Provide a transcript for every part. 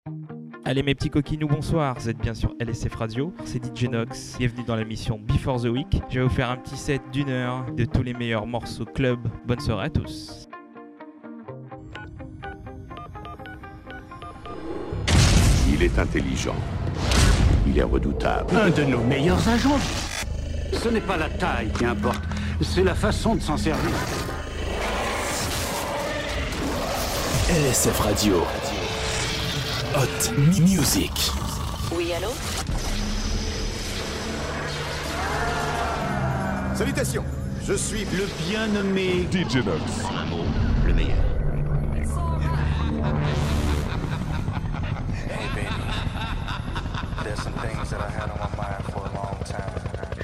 Allez mes petits coquinous, bonsoir, vous êtes bien sur LSF Radio, c'est DJ Nox, bienvenue dans la mission Before the Week. Je vais vous faire un petit set d'une heure de tous les meilleurs morceaux club, bonne soirée à tous. Il est intelligent, il est redoutable. Un de nos meilleurs agents. Ce n'est pas la taille qui importe, c'est la façon de s'en servir. LSF Radio. Hot Music. Oui, allô? Salutations, je suis Le bien nommé DJ Nox. En un mot, le meilleur. Hey baby, there's some things that I had on my mind for a long time.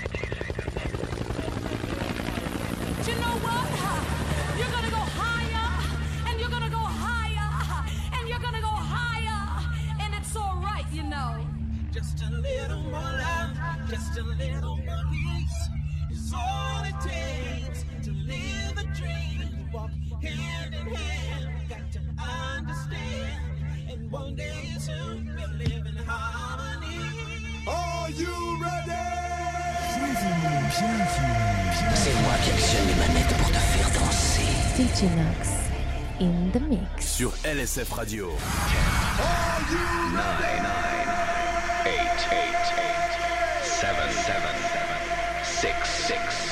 You know what? You're gonna go higher, and you're gonna go higher, and you're gonna go higher, and it's alright, you know. Just a little more love, just a little more peace is all it takes to live a dream. Walk hand in hand, got to understand. And one day soon we'll live in harmony. Are you ready? C'est moi qui actionne les manettes pour te faire danser. DJ Nox in the mix. Sur LSF Radio. 9, 8, 7, 6, 5,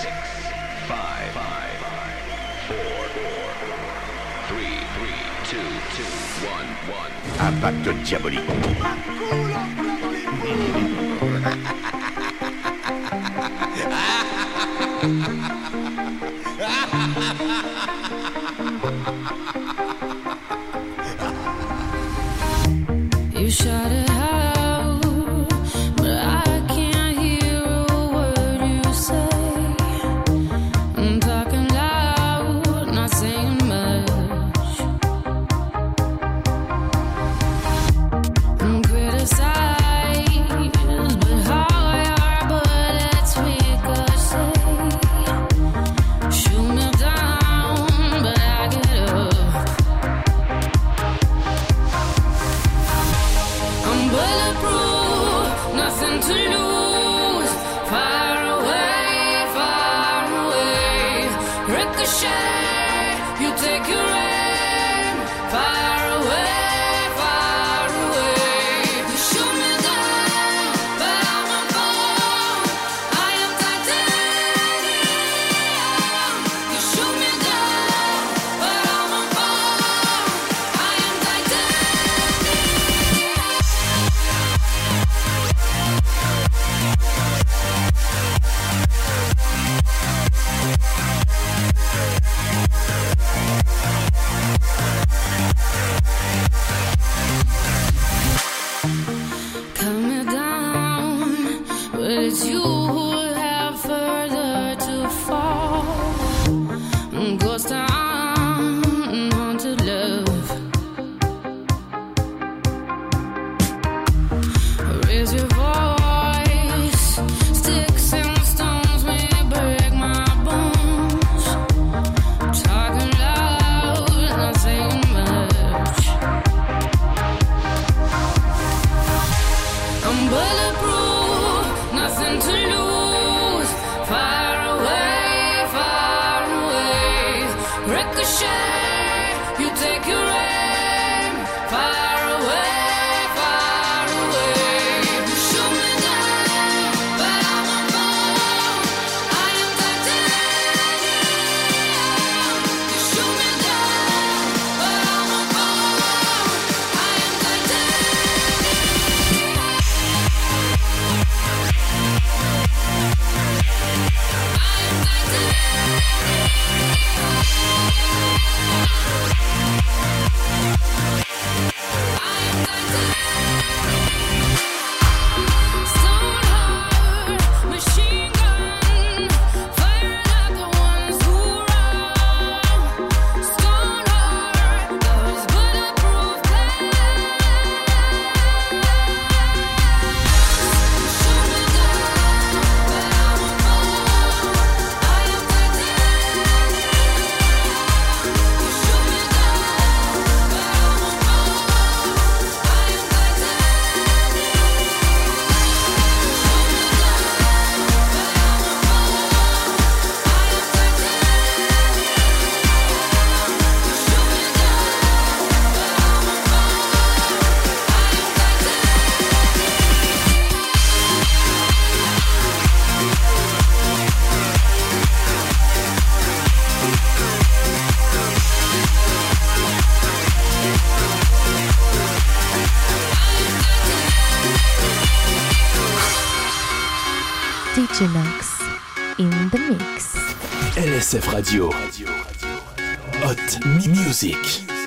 4, 3, 2, 1. Impact diabolique. You shut it out, but I can't hear a word you say. I'm talking loud, not saying much. I'm criticized, but how your bullets ricochet. Shoot me down, but I get up. I'm bulletproof, nothing to lose. Far away, ricochet. You take your aim. Far away. You shoot me down, but I won't fall. I am titanium. You shoot me down, but I won't fall. I am titanium. Genox in the mix. LSF Radio. Hot Music.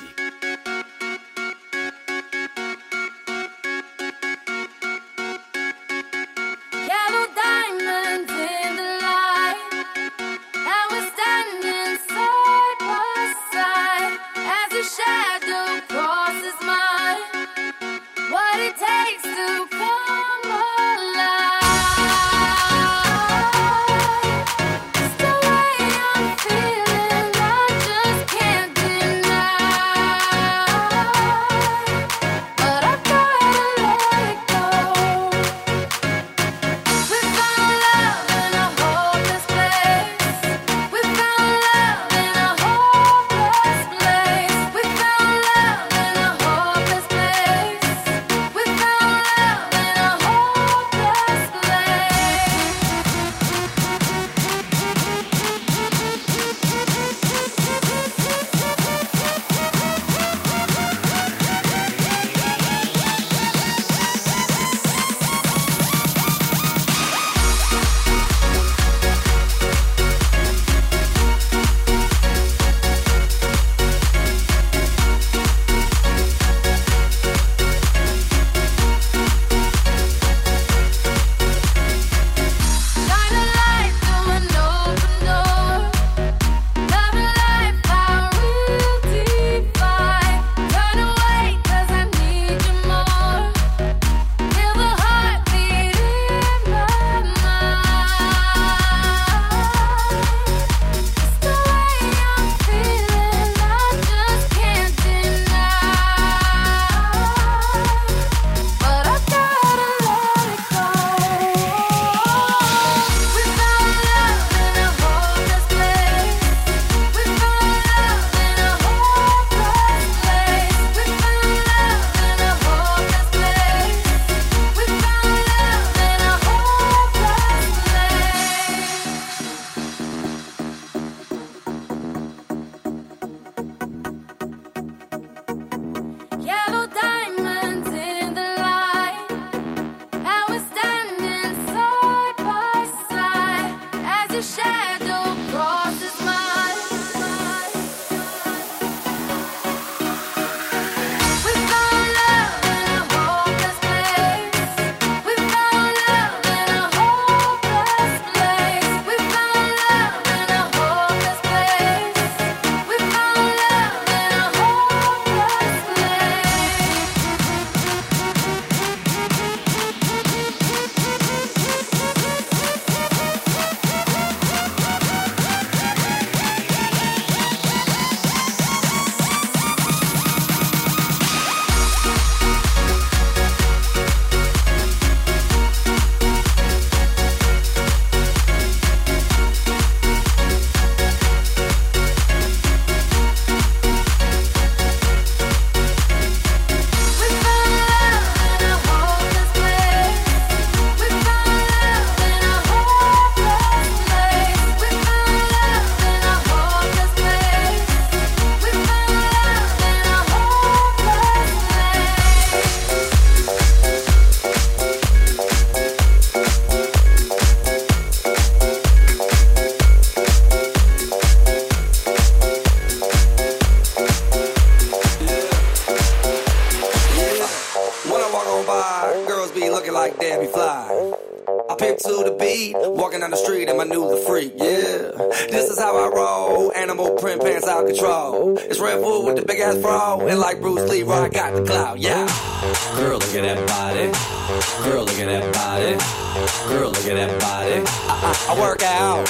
to the beat, walking down the street and I knew the freak, yeah. This is how I roll, animal print pants out control. It's Red Bull with the big ass bra, and like Bruce Lee, I got the clout, yeah. Girl, look at that body. Girl, look at that body. Girl, look at that body. I work out.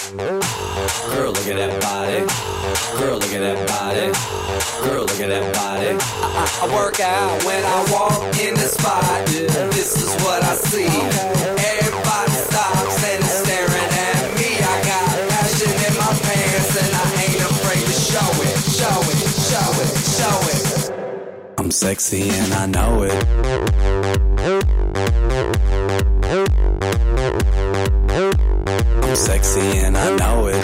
Girl, look at that body. Girl, look at that body. Girl, look at that body. I work out when I walk in the spot. This is what I see. Everybody stops and is staring at me. I got passion in my pants and I ain't afraid to show it. Show it, show it, show it. I'm sexy and I know it. I'm sexy and I know it.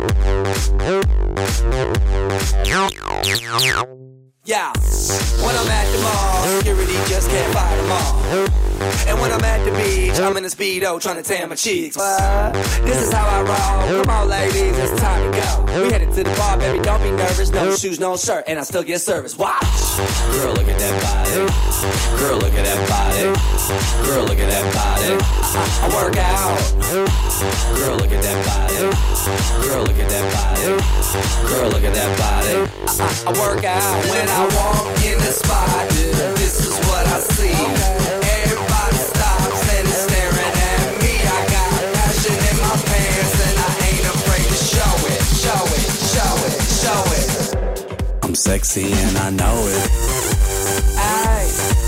Yeah, when I'm at the mall, security just can't fight them all. And when I'm at the beach, I'm in a Speedo trying to tan my cheeks. This is how I roll. Come on, ladies, it's time to go. We headed to the bar, baby, don't be nervous. No shoes, no shirt, and I still get service. Watch. Girl, look at that body. Girl, look at that body. Girl, look at that body. I work out. Girl, look at that body. Girl, look at that body. Girl, look at that body. I work out. When I walk in the spot, this is what I see. Everybody stops and is staring at me. I got passion in my pants and I ain't afraid to show it. Show it, show it, show it. I'm sexy and I know it. Aye.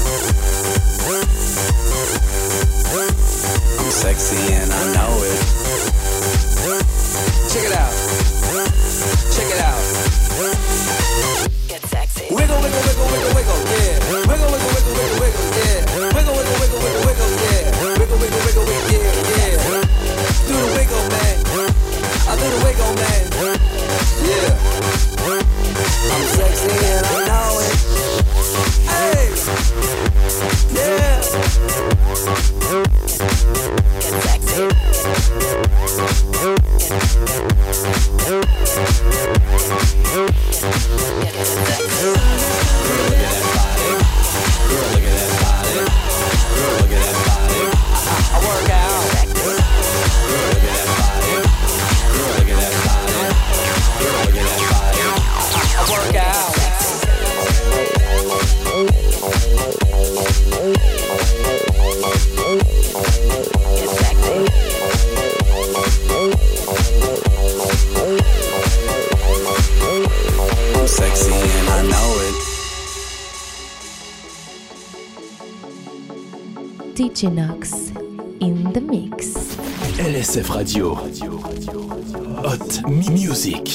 I'm sexy and I know it. Check it out. Check it out. Get sexy. Wiggle, wiggle, wiggle, wiggle, wiggle, yeah. Wiggle, wiggle, wiggle, wiggle, wiggle, yeah. Wiggle, wiggle, wiggle, wiggle, wiggle, yeah. Wiggle, wiggle, wiggle, wiggle, yeah, yeah. Do the wiggle, man. I do the wiggle, man. Yeah. I'm sexy and I know it. Hey. Yeah. Get sexy. DJ Nox in the mix. LSF Radio. Hot Music.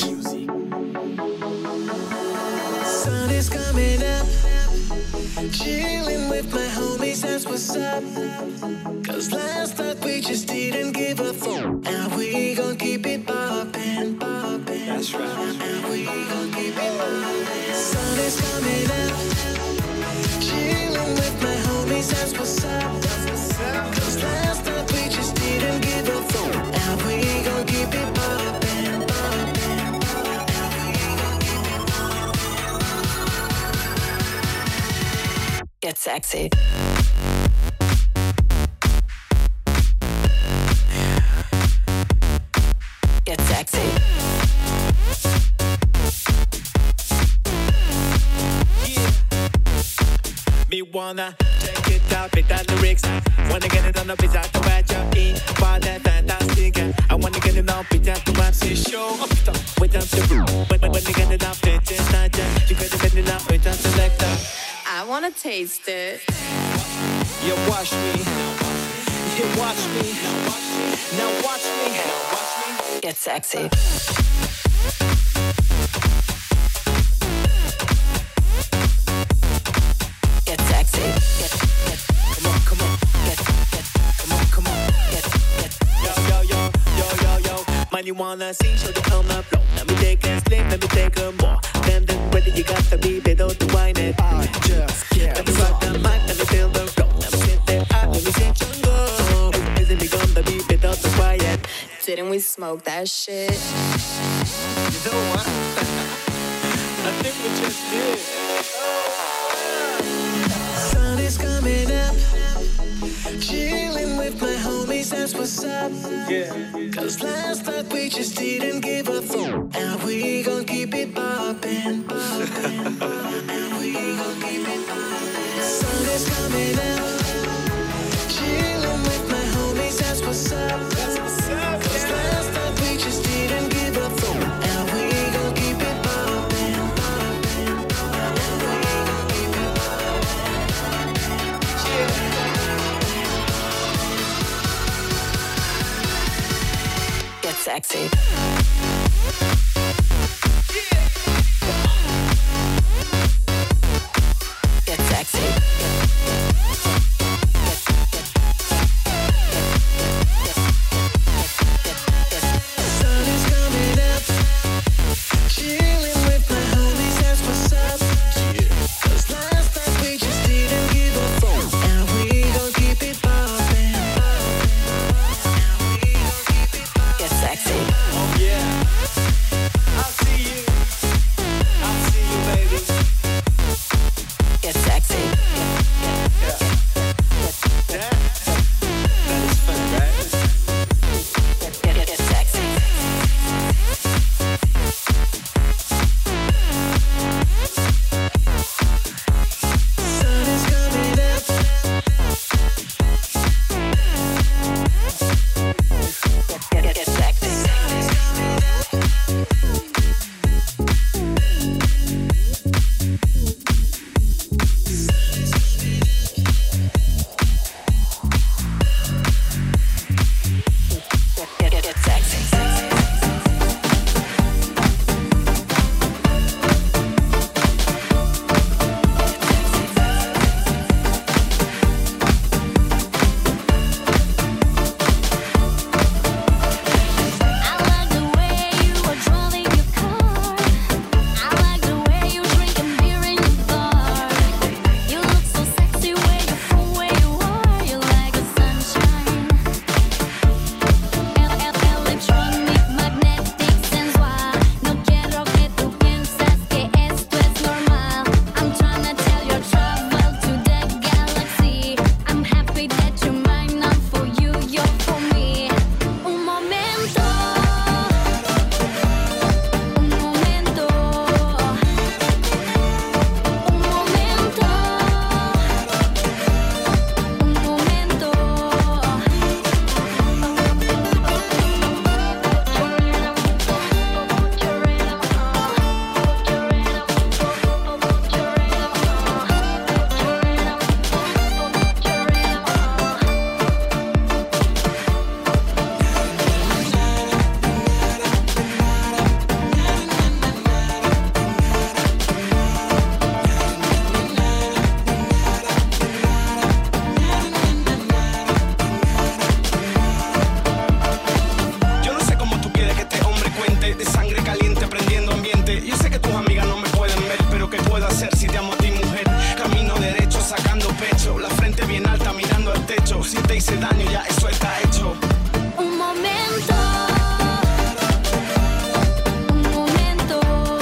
Sun is coming up. Chilling with my homies, that's what's up. Cause last night we just didn't give a fuck. And we gon' keep it poppin', poppin'. That's right. And we gon' keep it poppin'. Sun is coming up. Chilling with my homies, that's what's up. Cause last night we just didn't give a fuck. And we gon' keep it poppin', poppin'. Get sexy. Get sexy. Me wanna check it out with the lyrics. Wanna get it on the beat out the way you're in. But that's fantastic. I wanna get it on beat out the way she show. Without the room. When you get it up, it's just not you could have been it up without the selector. I wanna taste it. You watch me. You watch me. Now watch me. Get sexy. Get sexy. Come on, come on. Come on. Yo. Man, you wanna see, show the on the floor. Let me take a slip, let me take a more. Then ready, you got to be better to wine it. I just can't. Let me rock the mic, let me feel the flow. Let me sit there, let me sit your go. Isn't it gonna be better to quiet? Didn't we smoke that shit? You know what? I think we just did. Sun is coming up. Chilling with my homies, that's what's up. Yeah. Cause last night we just didn't give a fuck. And we gon' keep it poppin', poppin'. And we gon' keep it poppin'. Sun is coming up. Chilling with my homies, that's what's up. Cause last night we just didn't give a fuck. And we gon' keep it poppin', poppin'. And we gon' keep it poppin'. Get sexy. Get sexy. Sun is coming up. Chilling with my homies, that's what's up. Cause last night we hice daño, ya eso está hecho. Un momento. Un momento.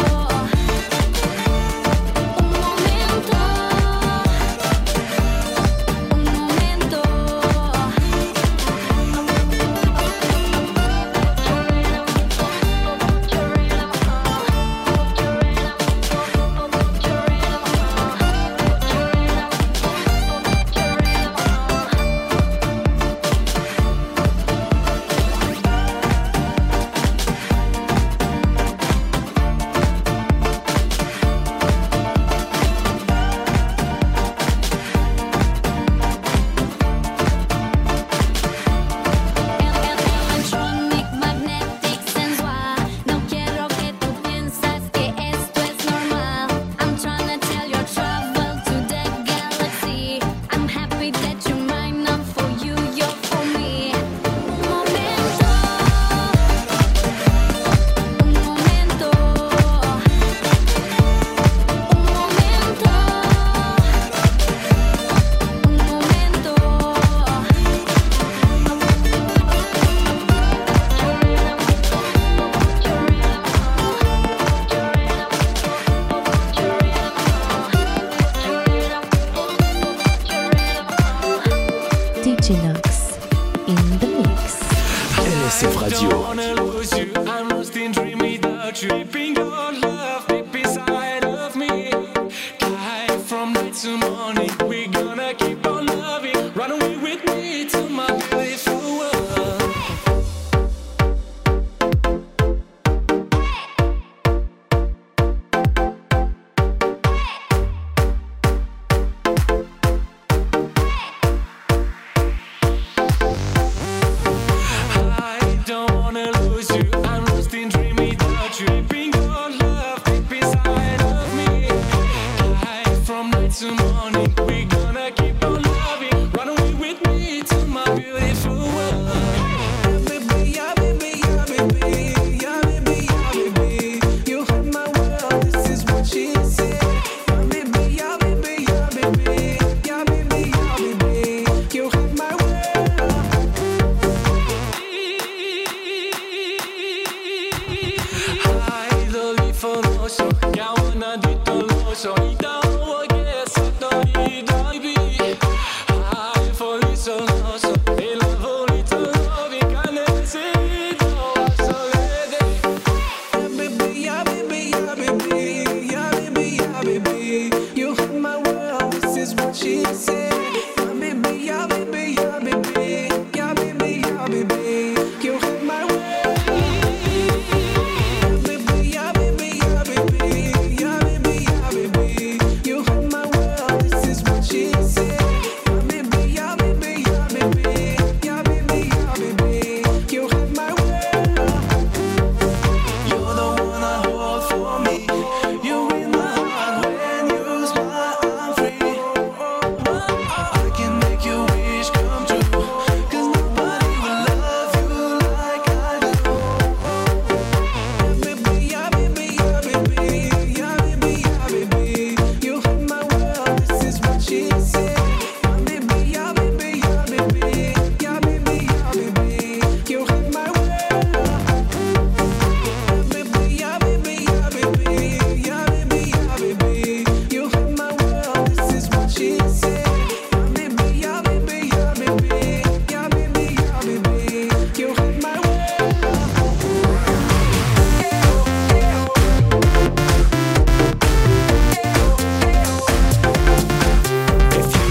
Un momento. Un momento. DJ Nox in the mix. LSF Radio. I'm lost in dream without tripping your love deep inside of me. Life from night to morning, we're gonna keep on loving. Run away with me to my beautiful world. So you don't get so she said. Yeah, baby, yeah, baby, yeah, baby. Yeah, baby, yeah, baby. You have my way. Yeah, baby, yeah, baby, yeah, baby. Yeah, baby, yeah, baby. You have my world. This is what she said. Yeah, baby, yeah, baby, yeah, baby. Yeah, baby, yeah, baby. You have my world. You're the one I hold for me. You're in my heart when you smile. I'm free. I can make your wish come true. 'Cause nobody will love you like I do. Yeah, baby, yeah, baby, yeah, baby. Yeah, baby, yeah, baby. You have my world. This is what she said. Yeah, baby, yeah, baby, yeah, baby. Yeah, baby, yeah, baby. You have my world. Yeah, baby, yeah, baby, yeah, baby. Yeah, baby, yeah, baby. You have my world. This is what she said. Yeah, baby, yeah, baby, yeah, baby. Yeah, baby, yeah, baby. You have my world. If you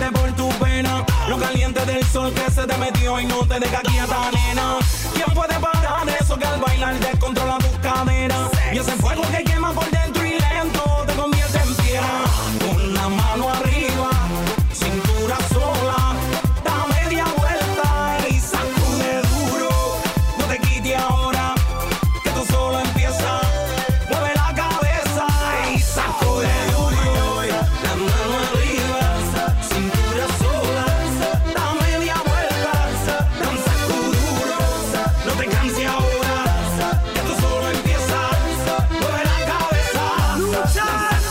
corre por tu pena. Lo caliente del sol que se te metió y no te deja quieta, nena. ¿Quién puede parar eso que al bailar descontrola tus caderas? Y ese fuego que quema por dentro y lento te convierte en piedra. Con la mano arriba, cintura sola, da media vuelta y sacude duro. No te quites ahora, que tú solo empiezas. Mueve la cabeza y sacude duro. La mano arriba, cintura sola, da media vuelta, da un sacuduro. No te canses ahora, que tú solo empiezas. Mueve la cabeza, lucha.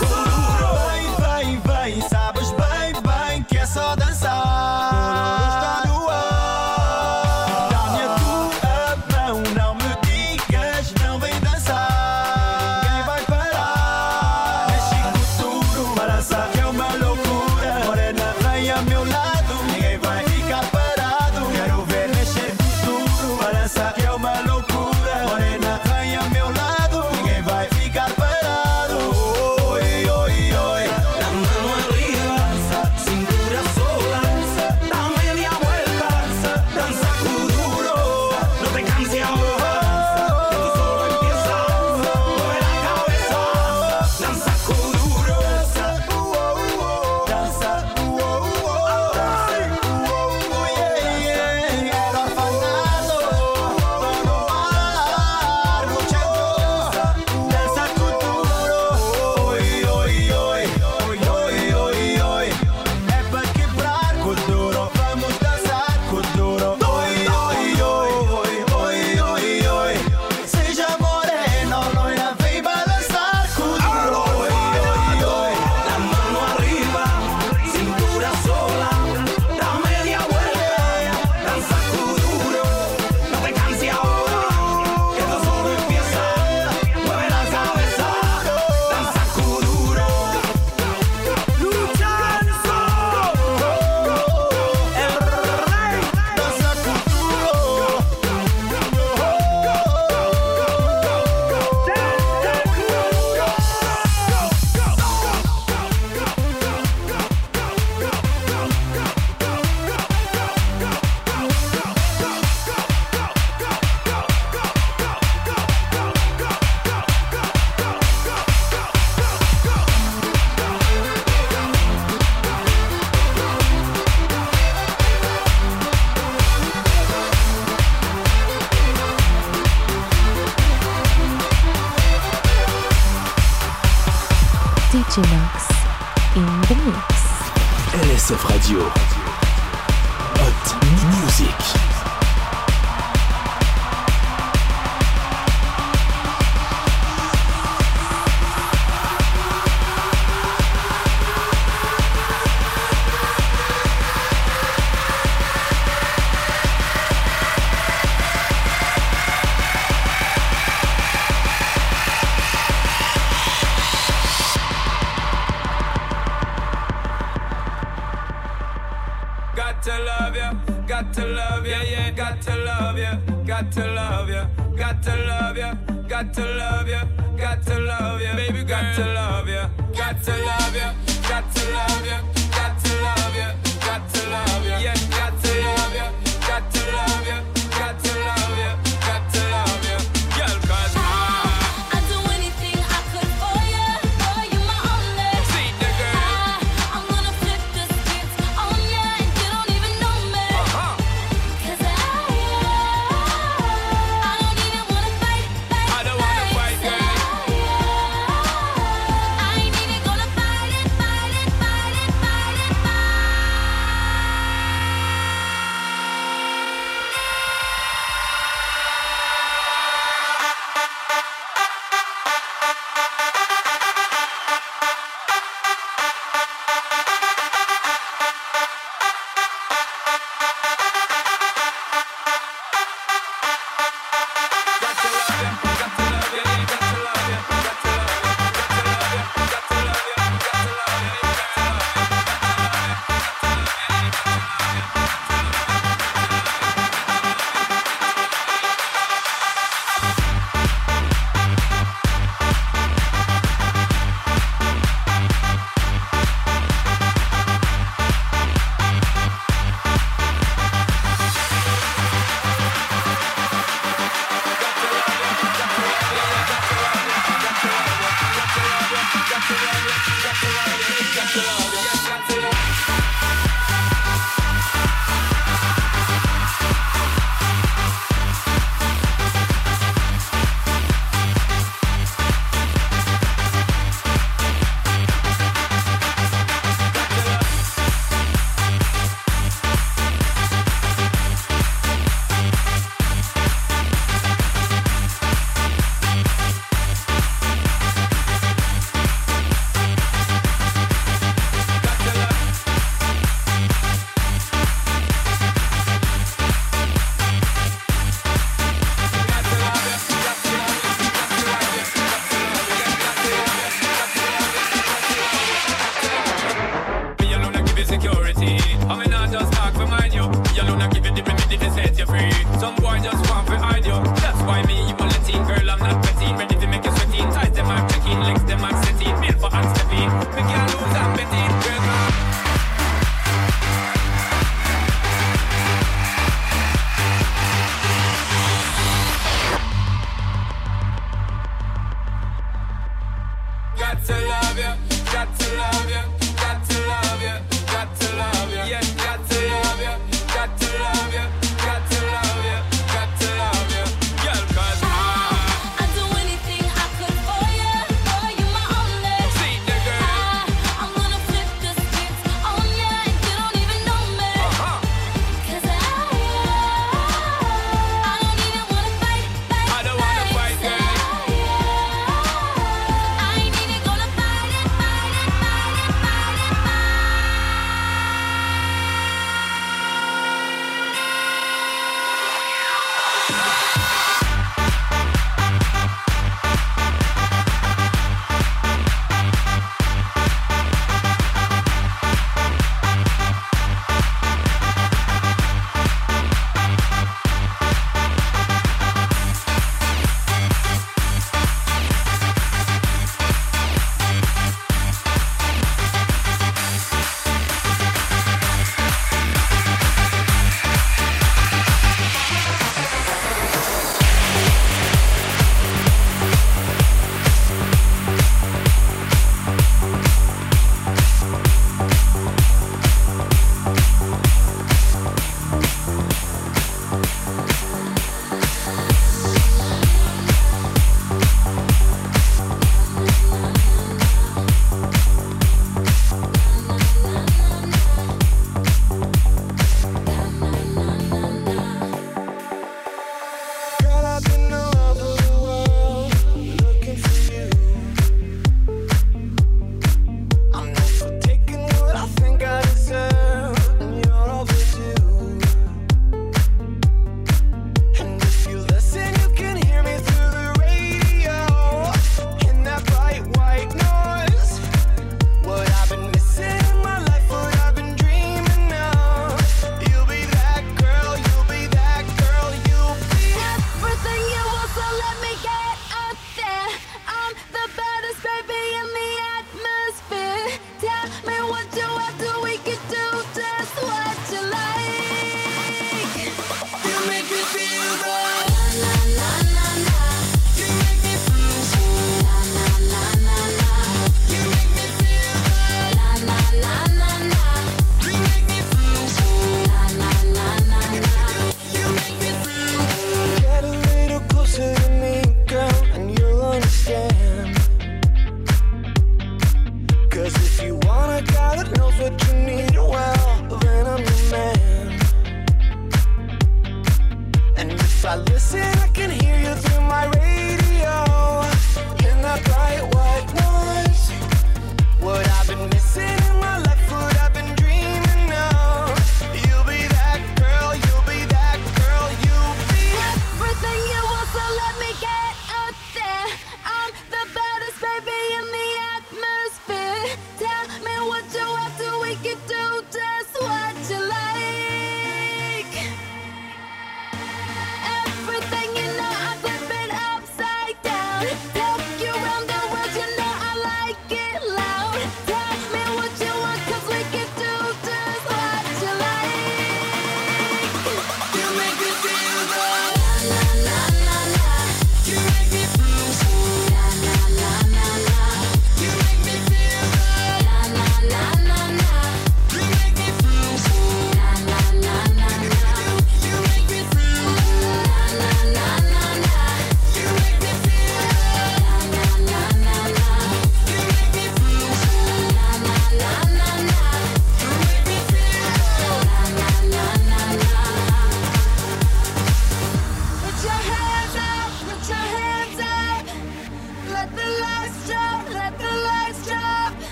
Vai, vai, sabes bem, bem que é só dançar. Está no ar. Dá-me a tua mão, não me digas, não vem dançar. Ninguém vai parar. Mexe com tudo, balança que é uma loucura. Morena, vem ao meu lado, ninguém vai ficar parado. Quero ver mexer com tudo, balança que é uma loucura. Morena, vem ao meu lado, ninguém vai ficar parado. Oi, oi, oi. La mano arriba, cintura sola, da media vuelta, dan sacuduro. No te canses ahora, que tú solo empiezas. Mueve la cabeza, dan sacuduro. Dança, era afanado, no ar, luchador, dança futuro, oi, oi, oi, oi, oi, oi, é pra quebrar com duro, vamos dançar com duro, oi, oi, oi, oi, oi, oi, seja moreno, loira, vem balançar com duro, oi, oi, oi. La mano arriba, cintura sola, da media vuelta, dan sacuduro. No te canses ahora, que esto solo empieza. Mueve la cabeza, dan sacuduro. Luchanzo, el rey, danza futuro. DJ Nox in the mix. LSF Radio. Hot Music. Got to love ya, got to love ya, yeah, got to love ya, got to love ya, got to love ya, got to love ya, got to love ya, baby, got to love ya, got to love ya, got to love ya, got to love ya, got to love ya, yeah, got to love ya, got to love ya, got to love ya, got to love ya, girl, 'cause I'd do anything I could for you. Boy, you my only. see the girl, I'm gonna flip the script on ya, and you don't even know me. 'Cause I don't even wanna fight. I don't wanna fight, girl. I ain't even gonna fight it.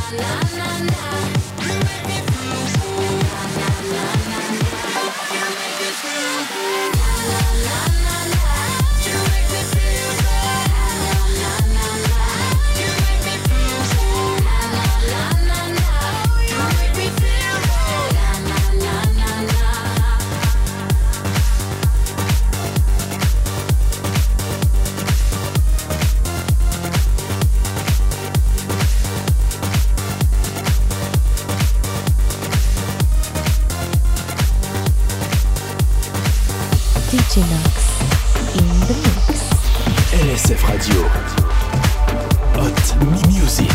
DJ Nox in the mix. LSF Radio. Hot Music.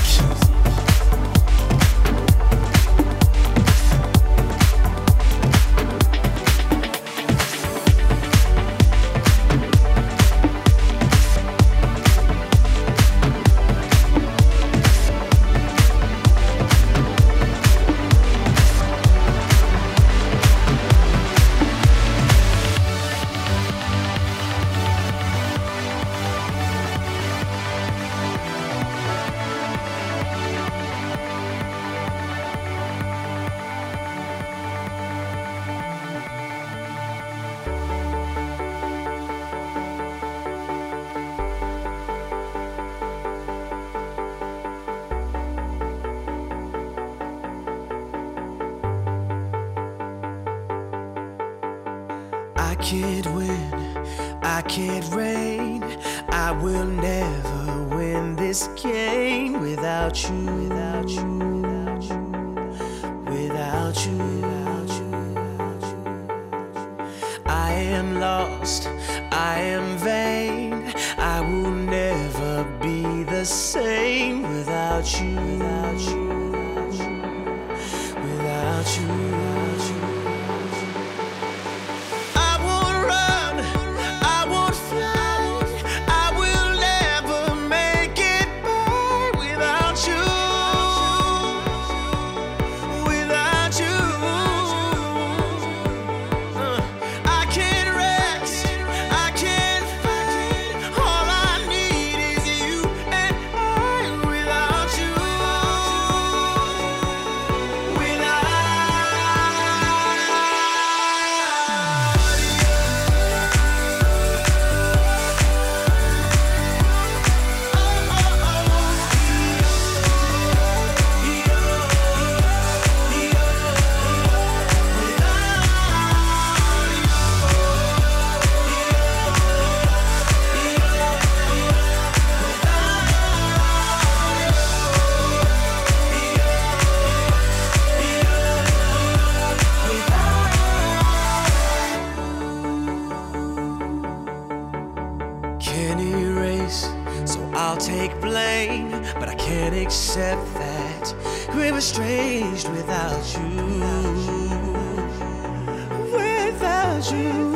I can't win, I can't reign. I will never win this game without you, without you, without you, without you, without you. I am lost, I am vain. I will never be the same without you, without you, without you, without you, without you. Accept that we're estranged without you, without you.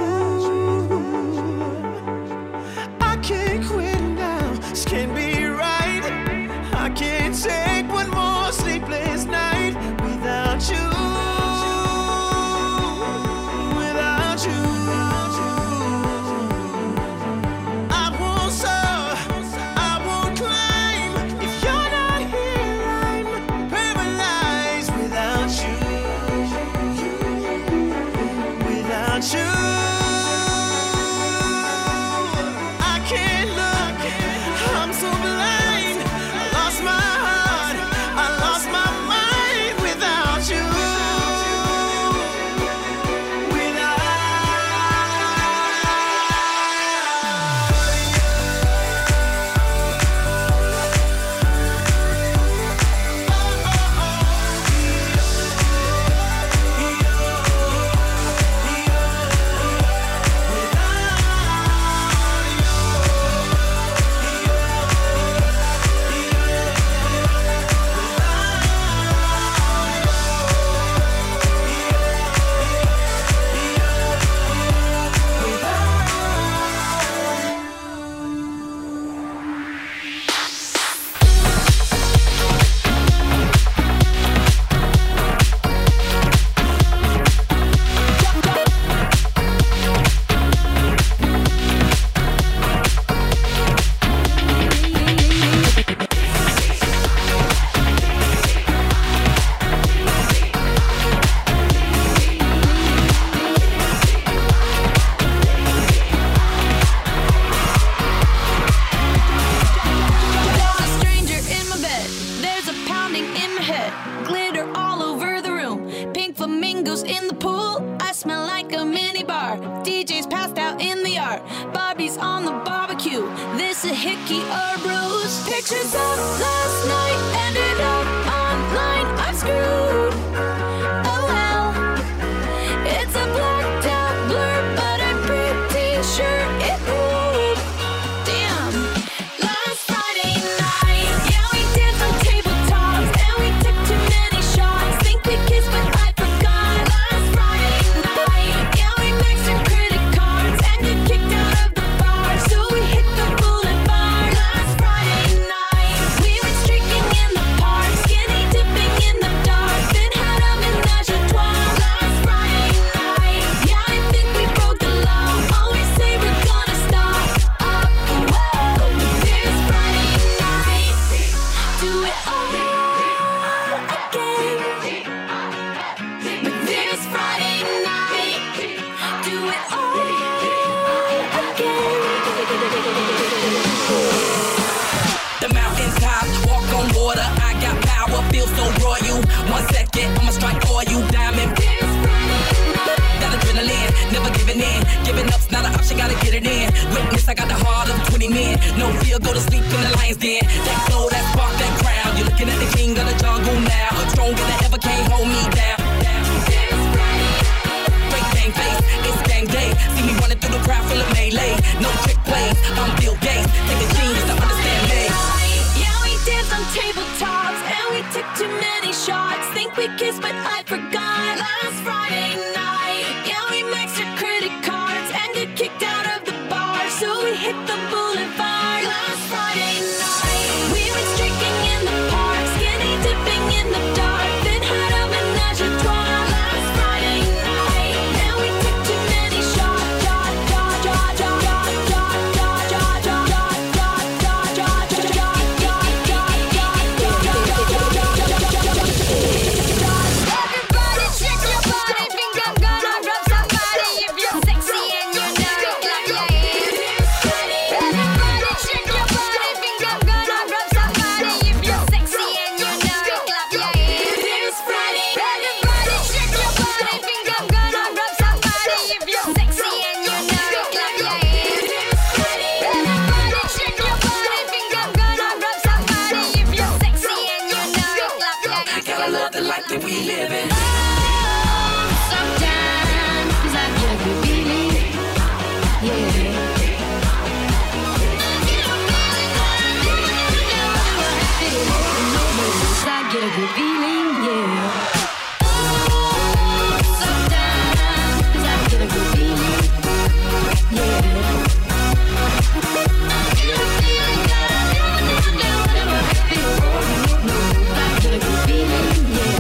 I can't quit now, this can't be right. I can't take one more sleepless night without you, without you. I won't soar, I won't climb if you're not here. I'm paralyzed without you, without you. I can't look, I'm so blind. I lost my heart, I lost my mind without you. in the pool. I smell like a mini bar. DJ's passed out in the yard. Bobby's on the barbecue. This a hickey or bruise. Pictures of last night ended up online. I'm screwed. Oh well. It's a blacked out blur, but I'm pretty sure it moved. Damn. Last Friday night, yeah, we danced on tabletops and we took too many shots. Think we kissed, but I forgot. Last Friday night, yeah, we maxed our credit cards and got kicked out of the bar, so we hit the boulevard. Last Friday night, we went streaking in the park, skinny dipping in the dark, then had a menage a trois. Last Friday night, yeah, I think we broke the law. Always say we're gonna stop. Whoa, this Friday night, do it all again. But this Friday night, do it all again. The mountaintop, walk on water. I got power, feel so royal. 1 second, I'ma strike for you, diamond. That adrenaline, never giving in. Giving up's not an option, gotta get it in. Witness, I got the heart of 20 men. No fear, go to sleep in the lion's den. That glow, that spark, that crown. You're looking at the king of the jungle now. Stronger than ever, can't hold me down. Break gang face, it's gang day. See me running through the crowd full of melee. No trick plays, I'm Bill Gates. Take a genius to understand me. Yeah, we danced on tabletops and we took too many shots. Think we kissed, but I forgot. Last Friday night, yeah, we maxed our credit cards and got kicked out of the bar, so we hit the boulevard. Last Friday night, we went streaking in the park, skinny dipping in the dark, then had a menage a trois. Last Friday night, yeah, we took too many shots. Everybody shake your body, think I'm gonna rub somebody. If you're sexy and you know it, clap your hands. Everybody shake your body, think I'm gonna rub somebody. If you're sexy and you know it, clap your hands. This Friday, everybody shake your body, think I'm gonna rub somebody. If you're sexy and you know it, clap your hands. Everybody shake your body, think I'm gonna rub somebody. If you're sexy and you know it, clap your hands. Gotta love the life that we live in. Sometimes I get a good feeling, yeah. I get a good feeling, yeah. Sometimes I get a good feeling, yeah. I get a feeling that I never feel. I get a good feeling, yeah.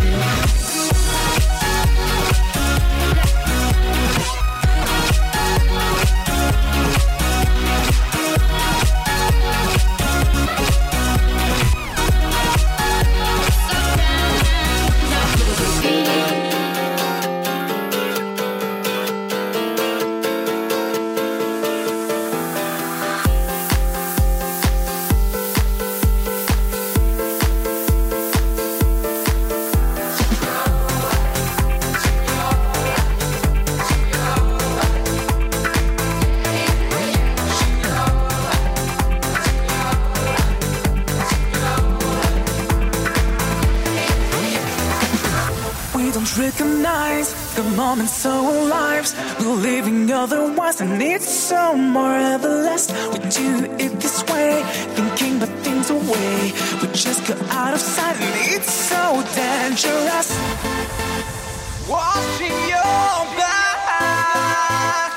We don't recognize the moment so alive. We're living otherwise, and it's so more everlasting. We do it this way, thinking the things away. We just go out of sight, and it's so dangerous. Watching your back,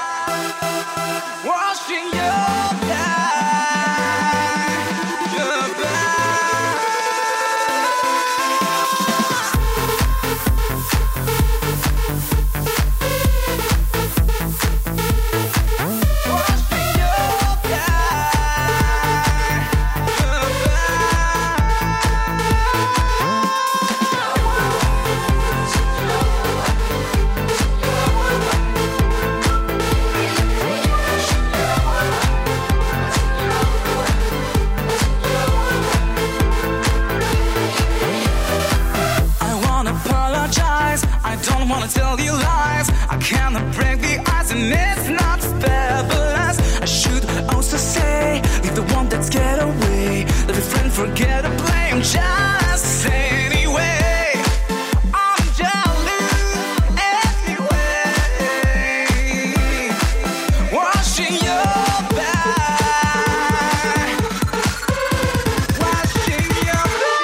watching your back, your back. your lies. I cannot break the ice and it's not fabulous. I should also say, leave the one that's get away. Let a friend forget to blame, just say anyway. I'm jealous anyway. Washing your back. Washing your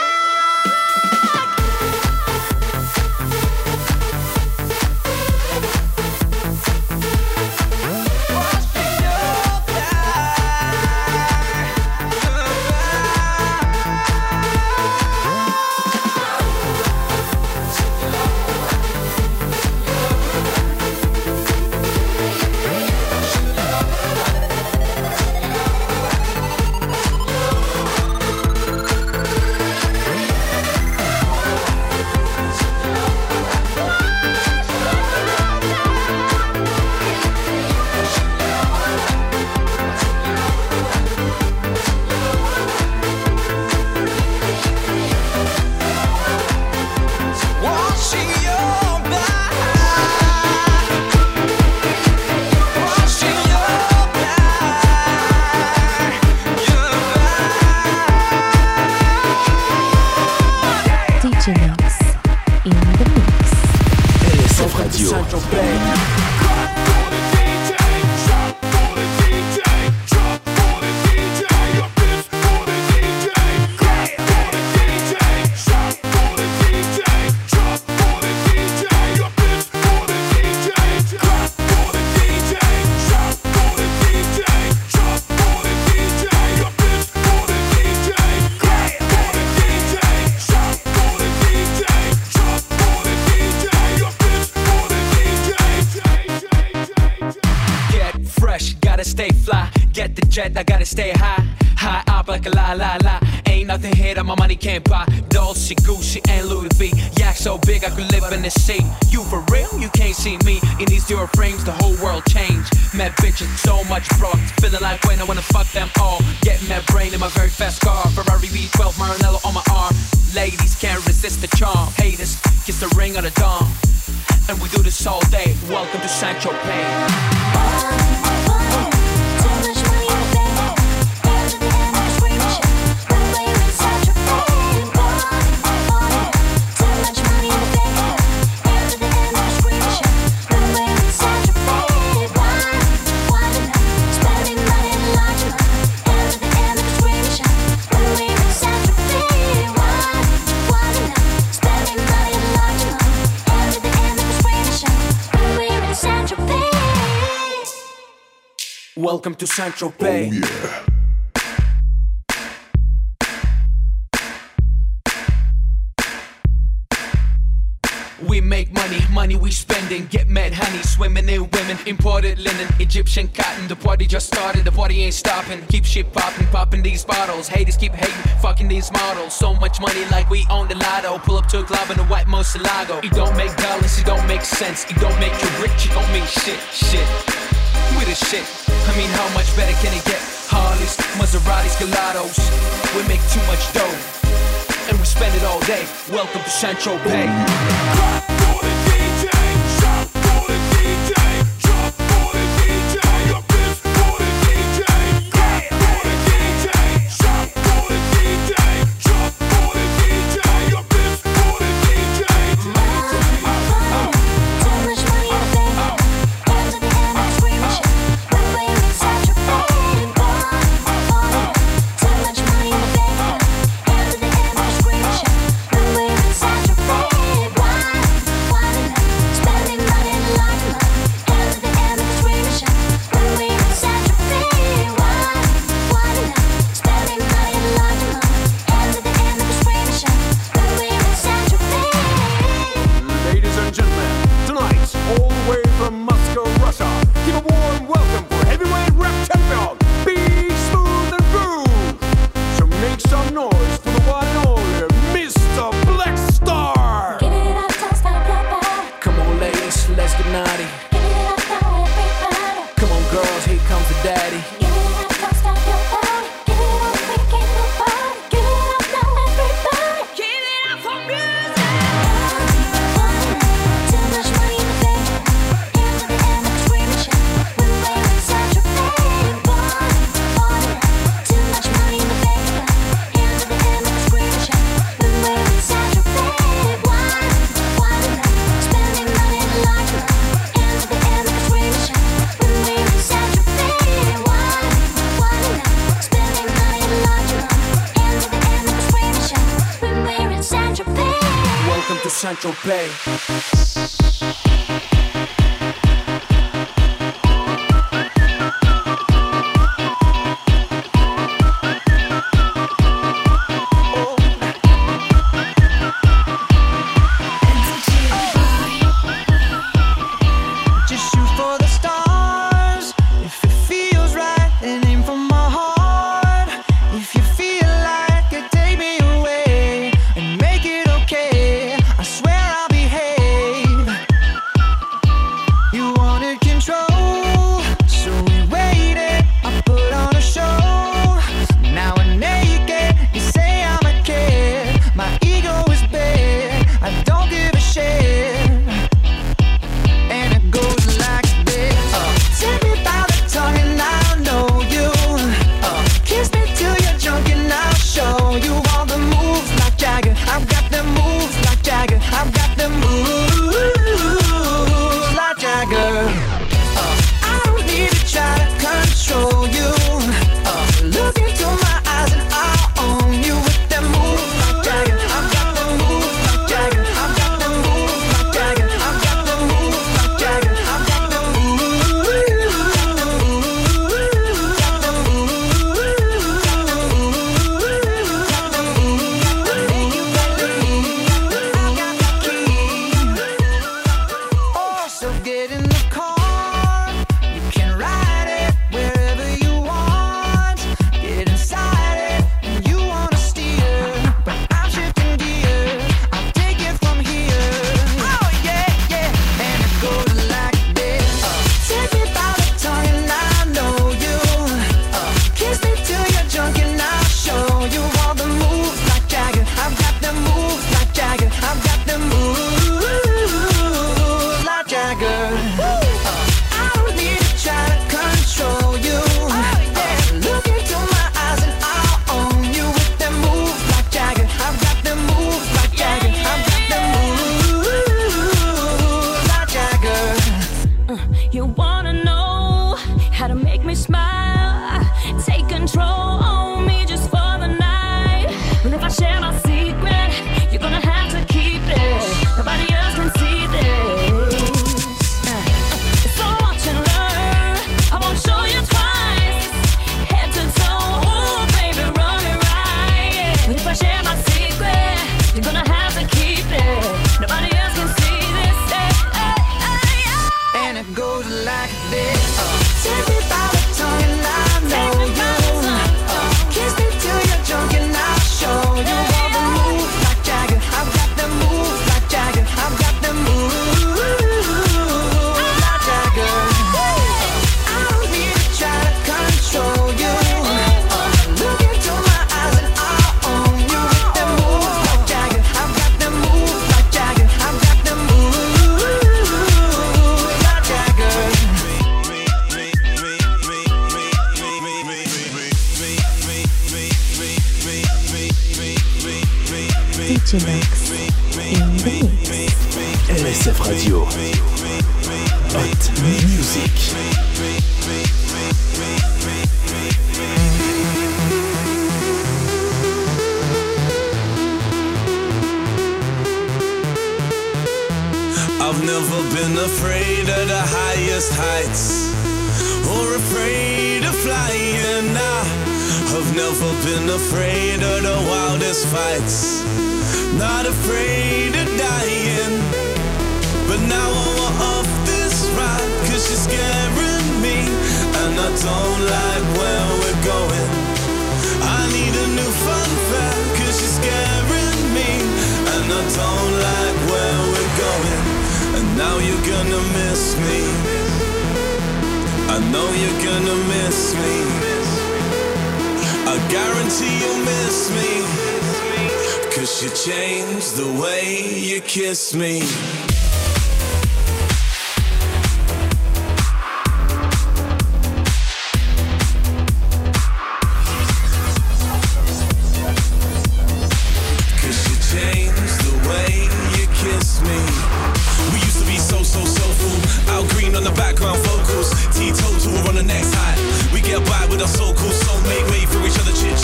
jet, I gotta stay high, high up like a la la la. Ain't nothing here that my money can't buy. Dolce, Gucci, and Louis V. Yak so big I could live in the sea. You for real? You can't see me. In these zero frames, the whole world changed. Mad bitches, so much broad. Feeling like when I wanna fuck them all. Get mad brain in my very fast car. Ferrari V12, Maranello on my arm. Ladies can't resist the charm. Haters, kiss the ring on the dawn. And we do this all day. Welcome to Saint-Tropez. Welcome to Saint-Tropez. Oh, yeah. We make money, money we spending. Get mad honey, swimming in women. Imported linen, Egyptian cotton. The party just started, the party ain't stopping. Keep shit popping, popping these bottles. Haters keep hating, fucking these models. So much money like we own the lotto. Pull up to a club in a white Moselago. It don't make dollars, it don't make sense. It don't make you rich, it don't mean shit, shit. We the shit, I mean how much better can it get? Harleys, Maseratis, Gelatos. We make too much dough, and we spend it all day. Welcome to Saint-Tropez. Clap for the DJ, shout for the DJ, drop for the DJ, your bitch for the DJ. Clap for the DJ, shout for the DJ, drop for the DJ, your bitch for the DJ. Too much money in the bank, hands in the air like screaming shit. When we're in Saint-Tropez, too much money in the bank, hands in the air like screaming shit. When we're in Saint-Tropez, spending money in the lodge, hands in the air like screaming shit. When we're in Saint-Tropez, spending money in the lodge, hands in the air like screaming shit. When we're in Saint-Tropez. Ladies and gentlemen, tonight, all the way from Moscow, Russia, give a warm welcome for heavyweight rap champion, Be Smooth and Groove. So make some noise for the one and only Mr. Black Star. Give it up, don't stop your body. Come on ladies, let's get naughty. Give it up, now everybody. Come on girls, here comes the daddy. Give it up, don't stop your body. Give it up, we can't nobody. Give it up, now everybody. Give it up for music. Too much money in the bank. Saint-Tropez. LSF Radio. Hot Music. I've never been afraid of the highest heights or afraid of flying. I've never been afraid of the wildest fights, not afraid of dying. But now I want off this ride, cause you're scaring me, and I don't like where we're going. I need a new fun fact, cause you're scaring me, and I don't like where we're going. And now you're gonna miss me, I know you're gonna miss me, I guarantee you'll miss me, cause you changed the way you kiss me.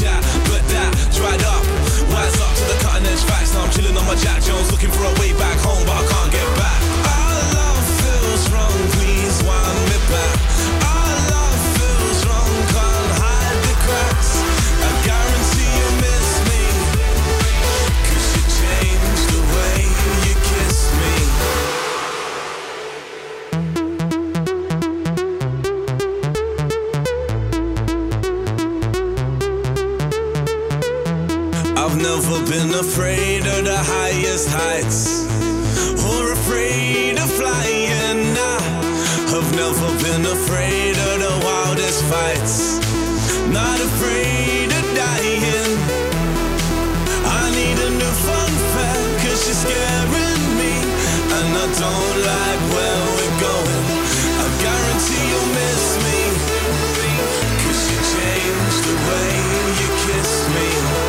Jack Jones looking for a way back home. never been afraid of the highest heights or afraid of flying. I've never been afraid of the wildest fights, not afraid of dying. I need a new fun fact, 'cause you're scaring me, and I don't like where we're going. I guarantee you'll miss me, 'cause you changed the way you kiss me.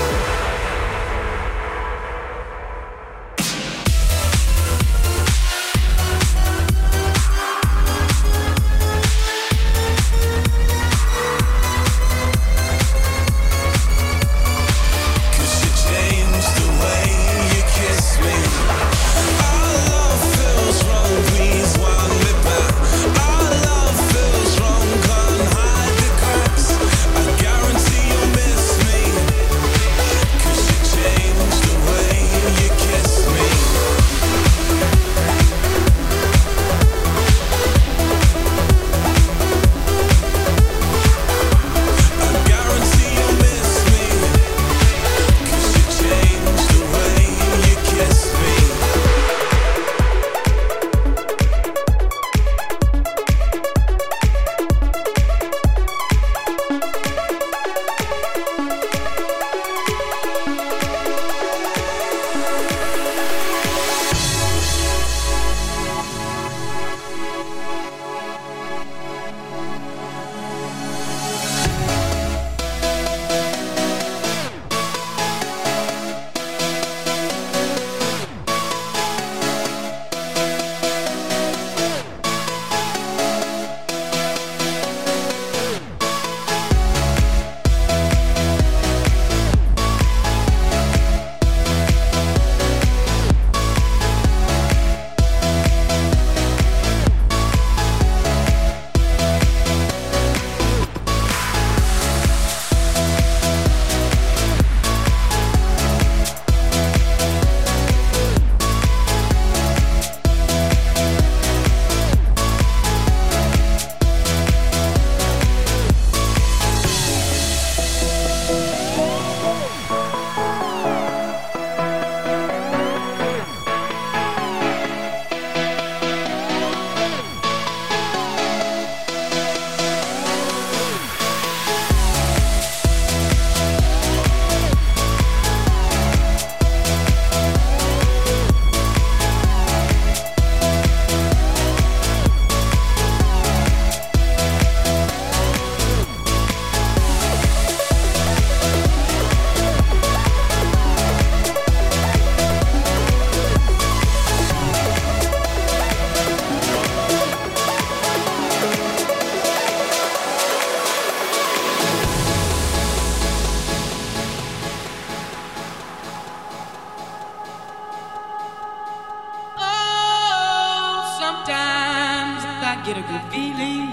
get a good feeling,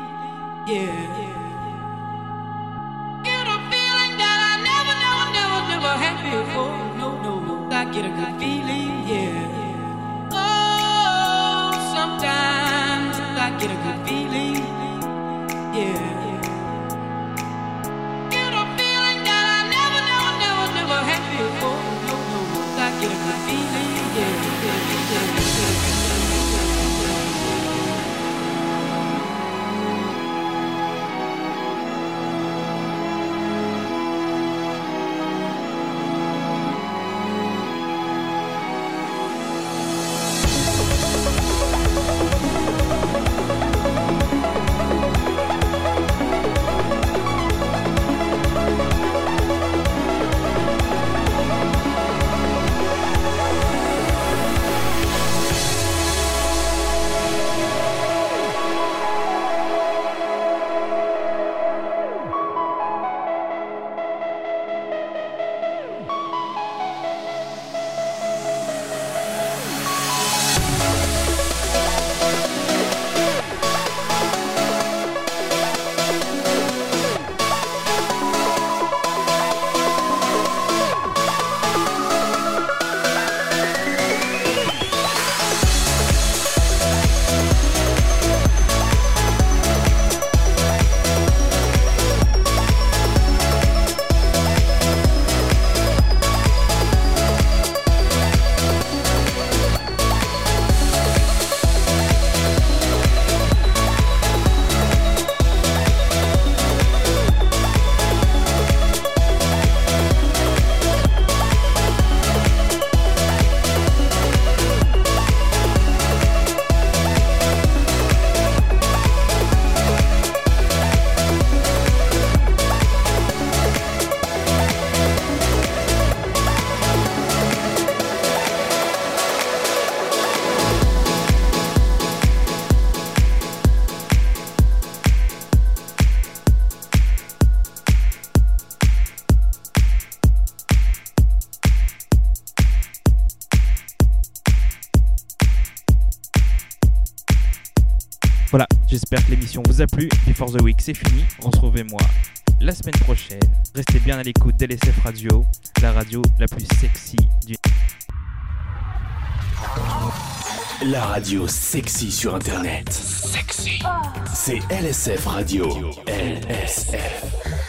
yeah. Get a feeling that I never had before. No, I get a good feeling, yeah. Oh, sometimes I get a good feeling, yeah. Get a feeling that I never had before. No, I get a good feeling, yeah. Voilà, j'espère que l'émission vous a plu. Before the Week, c'est fini. Retrouvez-moi la semaine prochaine. Restez bien à l'écoute d'LSF Radio, la radio la plus sexy du... La radio sexy sur Internet. Sexy. C'est LSF Radio. LSF.